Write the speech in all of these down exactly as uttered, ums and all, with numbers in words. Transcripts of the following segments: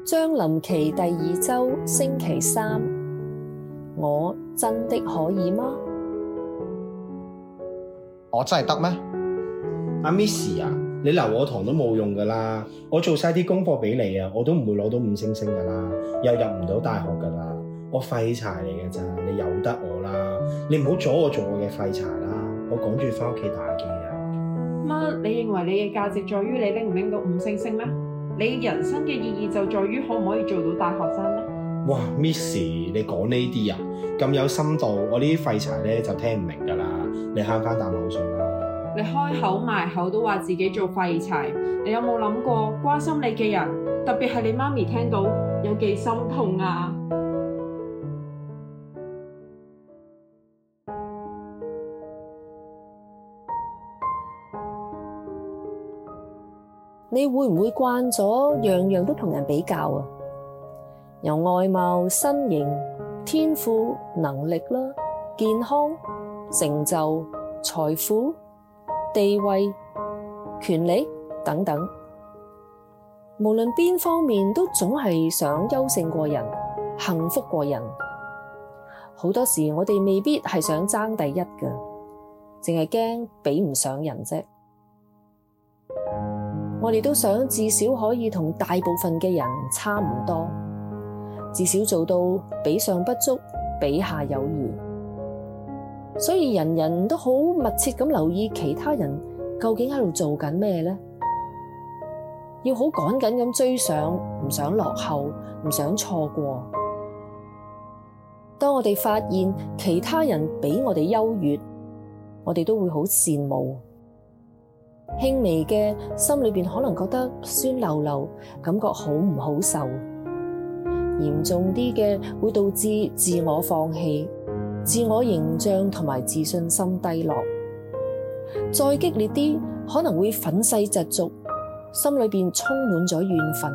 將臨期第二周星期三，我真的可以嗎？ 我真係得咩？阿 Miss 啊，你留我堂都冇用噶啦，我做晒啲功課俾你啊，我都唔會攞到五星星噶啦，又入唔到大學噶啦，我廢柴嚟嘅咋，你由得我啦，你唔好阻我做我嘅廢柴啦，我趕住翻屋企打機啊！ 乜？你認為你嘅價值在於你拎唔拎到五星星咩？你人生嘅意義就在於可唔可以做到大學生咩？ 哇 ，Miss， 你講呢啲啊，咁有深度，我呢啲廢柴咧就聽唔明噶啦，你慳翻啖口水啦。 你開口埋口都話自己做廢柴，你有冇諗過關心你嘅人，特別係你媽咪聽到有幾心痛啊？ 你會唔會慣咗樣樣都同人比較啊？由外貌、身形、天賦、能力啦、健康、成就、財富、地位、權力等等，無論邊方面都總係想優勝過人、幸福過人。好多時我哋未必係想爭第一㗎，淨係驚比唔上人啫。我哋都想至少可以同大部分嘅人差唔多，至少做到比上不足，比下有餘。所以人人都好密切咁留意其他人究竟喺度做緊咩呢？要好趕緊咁追上，唔想落後，唔想錯過。當我哋發現其他人比我哋優越，我哋都會好羨慕。輕微嘅心裏邊可能覺得酸溜溜，感覺好唔好受；嚴重啲嘅會導致自我放棄、自我形象同埋自信心低落。再激烈啲，可能會憤世嫉俗，心裏邊充滿咗怨憤。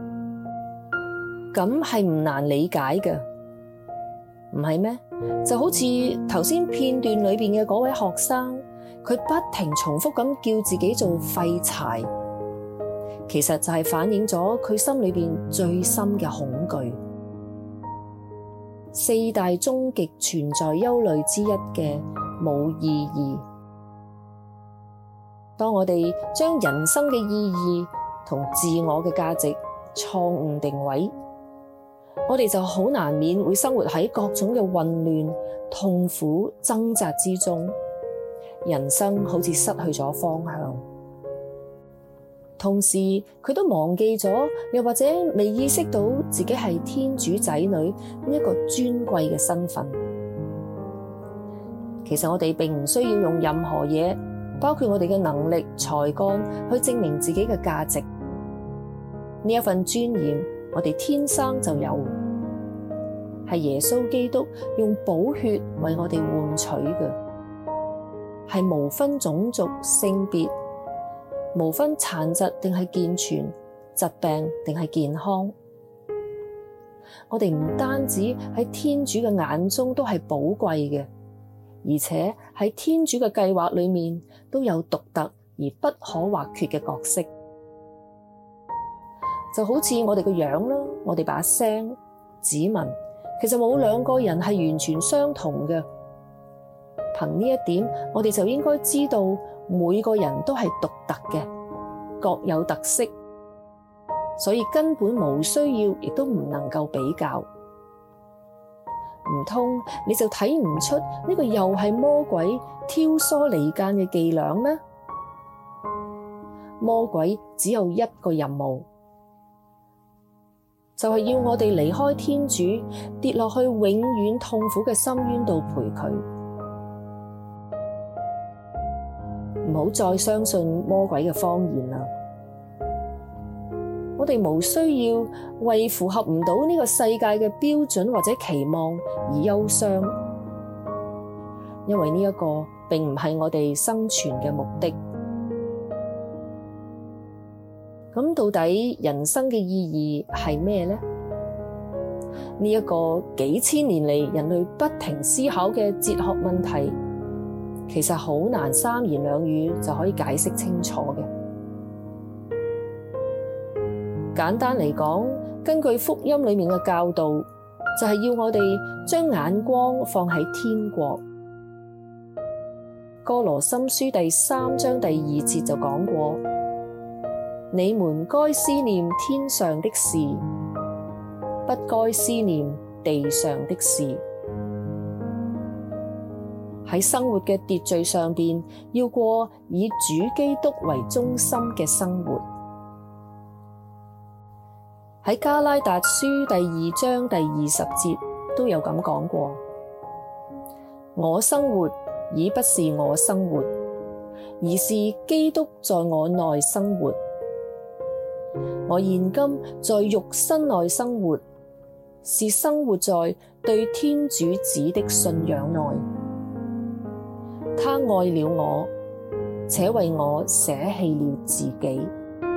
咁係唔難理解嘅，唔係咩？就好似頭先片段裏邊嘅嗰位學生。佢不停重複咁叫自己做廢柴，其實就係反映咗佢心裏邊最深嘅恐懼。四大終極存在憂慮之一嘅冇意義。當我哋將人生嘅意義同自我嘅價值錯誤定位，我哋就好難免會生活喺各種嘅混亂、痛苦、掙扎之中。人生好似失去咗方向，同時佢都忘記咗，又或者未意識到自己係天主仔女呢一個尊貴嘅身份。其實我哋並唔需要用任何嘢，包括我哋嘅能力、才幹去證明自己嘅價值。呢一份尊嚴，我哋天生就有，係耶穌基督用寶血為我哋換取嘅。係無分種族、性別，無分殘疾定係健全，疾病定係健康。我哋唔單止喺天主嘅眼中都係寶貴嘅，而且喺天主嘅計劃裏面都有獨特而不可或缺嘅角色。就好似我哋個樣啦，我哋把聲、指紋，其實冇兩個人係完全相同嘅。憑呢一點，我哋就應該知道每個人都係獨特嘅，各有特色，所以根本無需要，亦都唔能夠比較。唔通你就睇唔出呢個又係魔鬼挑唆離間嘅伎倆咩？魔鬼只有一個任務，就係要我哋離開天主，跌落去永遠痛苦嘅深淵度陪佢。唔好再相信魔鬼嘅謊言啦！我哋無需要為符合唔到呢個世界嘅標準或者期望而憂傷，因為呢一個並唔係我哋生存嘅目的。咁到底人生嘅意義係咩呢？呢一個幾千年嚟人類不停思考嘅哲學問題，其實好難三言兩語就可以解釋清楚嘅。 簡單嚟講，根據福音裡面嘅教導，就係要我哋將眼光放喺天國。歌羅森書第三章第二節就講過：你們該思念天上的事，不該思念地上的事。喺生活嘅秩序上邊，要過以主基督為中心嘅生活。喺加拉達書第二章第二十節都有咁講過：我生活已不是我生活，而是基督在我內生活。我現今在肉身內生活，是生活在對天主子的信仰內。他愛了我，且為我捨棄了自己。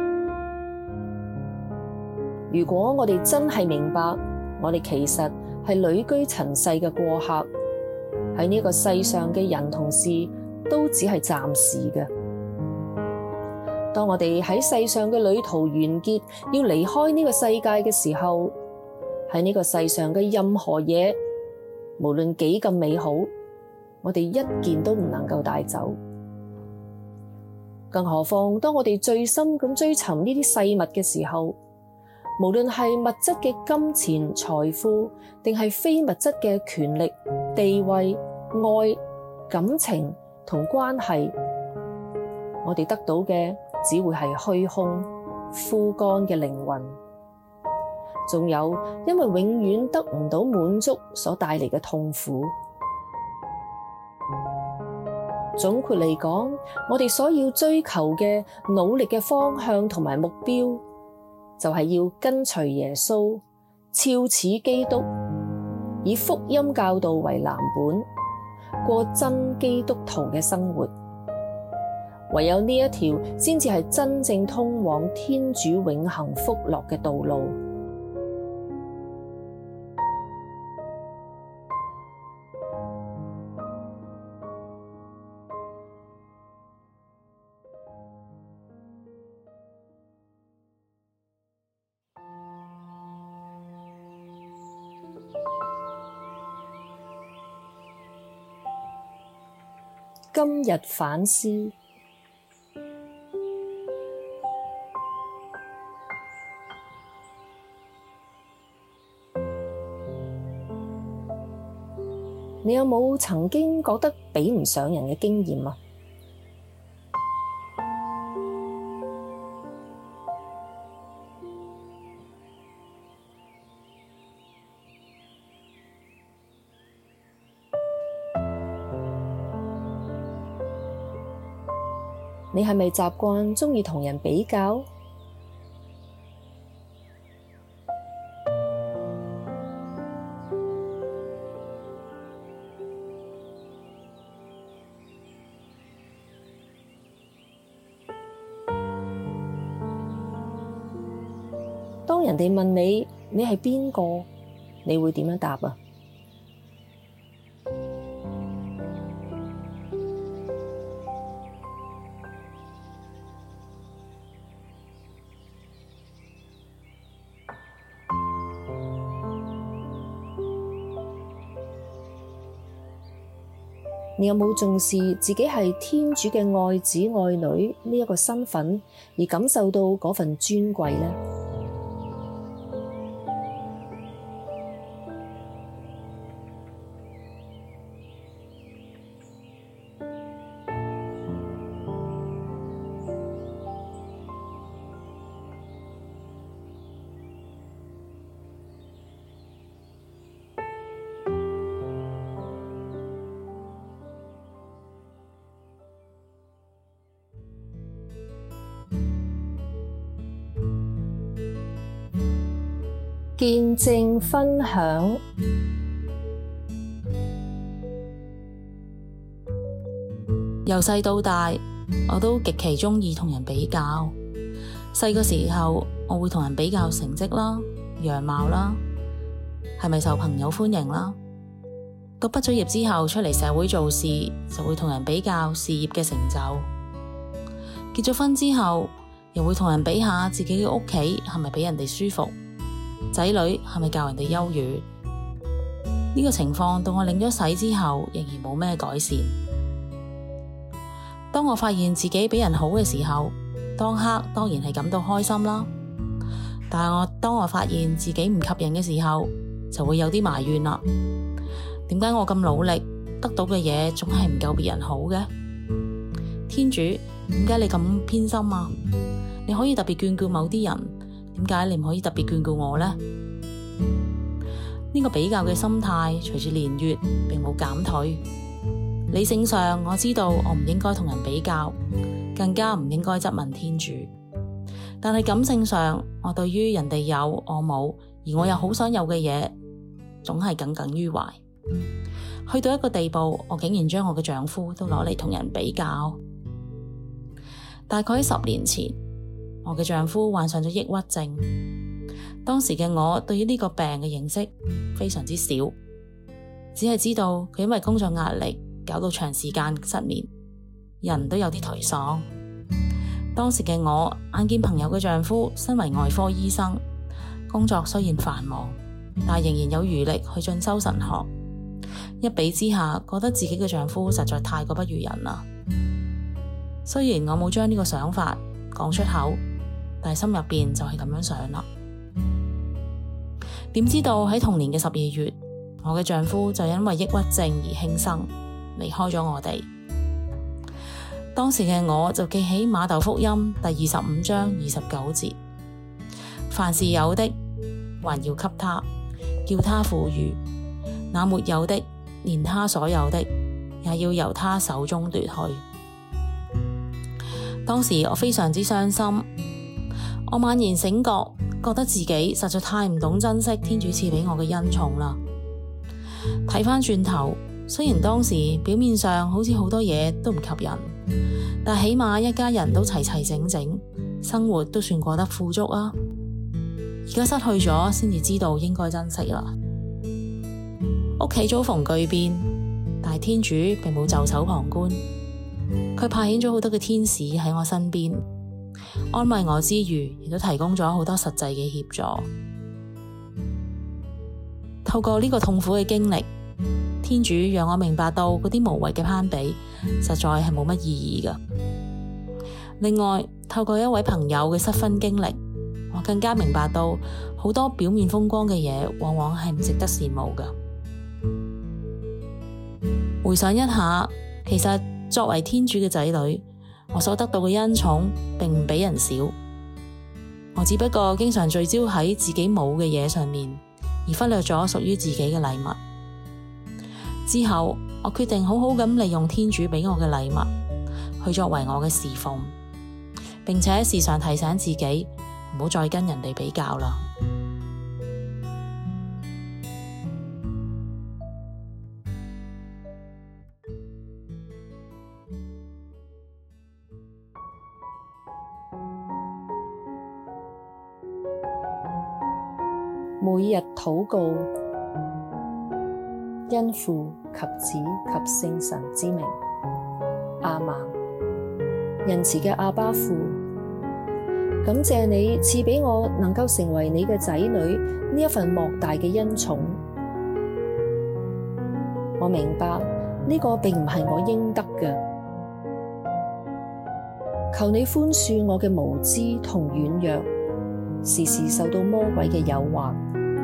如果我哋真係明白，我哋其實係旅居塵世嘅過客，喺呢個世上嘅人同事都只係暫時嘅。當我哋喺世上嘅旅途完結，要離開呢個世界嘅時候，喺呢個世上嘅任何嘢，無論幾咁美好，我哋一件都唔能夠帶走。更何況當我哋最深咁追尋呢啲世物嘅時候，無論係物質嘅金錢財富，定係非物質嘅權力地位愛感情同關係，我哋得到嘅只會係虛空枯乾嘅靈魂，仲有因為永遠得唔到滿足所帶嚟嘅痛苦。總括嚟講，我哋所要追求嘅努力嘅方向同埋目標，就係要跟隨耶穌，肖似基督，以福音教導為藍本，過真基督徒嘅生活。唯有呢一條先至係真正通往天主永恆福樂嘅道路。今日反思，你有冇曾經覺得比唔上人嘅經驗啊？你係咪習慣鍾意同人比較？當人哋問你，你係邊個？你會點樣答啊？你有冇重視自己係天主嘅愛子愛女呢一個身份，而感受到嗰份尊貴呢？見證分享。 由細到大，我都極其鍾意同人比較。細個時候，我會同人比較成績啦、樣貌啦，係咪受朋友歡迎啦。到畢咗業之後，出嚟社會做事，就會同人比較事業嘅成就。結咗婚之後， 又會同人比下自己嘅屋企係咪比人哋舒服，仔女係咪教人哋優越。呢個情況到我領咗洗之後，仍然冇咩改善。當我發現自己比人好嘅時候，當刻當然係感到開心啦。但係我當我發現自己唔及人嘅時候，就會有啲埋怨啦。點解我咁努力得到嘅嘢總係唔夠別人好嘅？天主，點解你咁偏心啊？你可以特別眷顧某啲人，點解你唔可以特別眷顧我呢？呢個比較嘅心態隨住年月並冇減退。理性上我知道我唔應該同人比較，更加唔應該質問天主。但係感性上，我對於人哋有我冇，而我又好想有嘅嘢，總係耿耿於懷。去到一個地步，我竟然將我嘅丈夫都攞嚟同人比較。大概喺十年前，我嘅丈夫患上咗抑鬱症。當時嘅我對於呢個病嘅認識非常之少，只係知道佢因為工作壓力搞到長時間失眠，人都有啲頹喪。當時嘅我眼見朋友嘅丈夫身為外科醫生，工作雖然繁忙，但仍然有餘力去進修神學。一比之下，覺得自己嘅丈夫實在太過不如人啦。雖然我冇將呢個想法講出口，但係心入邊就係咁樣想啦。點知道喺同年嘅十二月，我嘅丈夫就因為抑鬱症而輕生，離開咗我哋。當時嘅我就記起馬竇福音第二十五章二十九節：凡是有的，還要給他，叫他富裕；那沒有的，連他所有的，也要由他手中奪去。當時我非常之傷心，我猛然醒覺，覺得自己實在太唔懂珍惜天主賜俾我嘅恩寵啦。睇返轉頭，雖然當時表面上好似好多嘢都唔及人，但起碼一家人都齊齊整整，生活都算過得富足啊。而家失去咗，先至知道應該珍惜啦。屋企遭逢巨變，但係天主並冇袖手旁觀，佢派遣咗好多嘅天使喺我身邊，安慰我之餘，亦都提供咗好多實際嘅協助。透過呢個痛苦嘅經歷，天主讓我明白到嗰啲無謂嘅攀比實在係冇乜意義㗎。另外，透過一位朋友嘅失婚經歷，我更加明白到好多表面風光嘅嘢，往往係唔值得羨慕㗎。回想一下，其實作為天主嘅仔女，我所得到嘅恩寵並唔比人少。我只不過經常聚焦喺自己冇嘅嘢上面，而忽略咗屬於自己嘅禮物。之後，我決定好好咁利用天主俾我嘅禮物，去作為我嘅侍奉，並且時常提醒自己唔好再跟人哋比較啦。 每日禱告，因父及子及聖神之名，阿們。仁慈嘅阿爸父，感謝你賜俾我能夠成為你嘅仔女呢一份莫大嘅恩寵。我明白呢個並唔係我應得嘅，求你寬恕我嘅無知同軟弱，時時受到魔鬼嘅誘惑。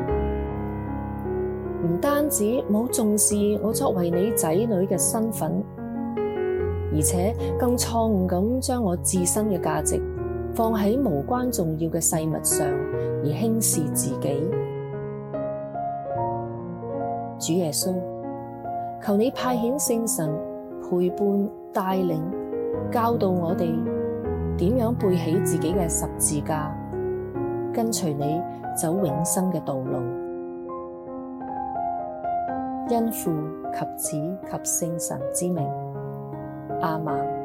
唔單止冇重視我作為你仔女嘅身份，而且更錯誤咁將我自身嘅價值放喺無關重要嘅細物上，而輕視自己。主耶穌，求你派遣聖神陪伴帶領，教導我哋點樣背起自己嘅十字架，跟隨你走永生嘅道路。因父及子及聖神之名，阿們。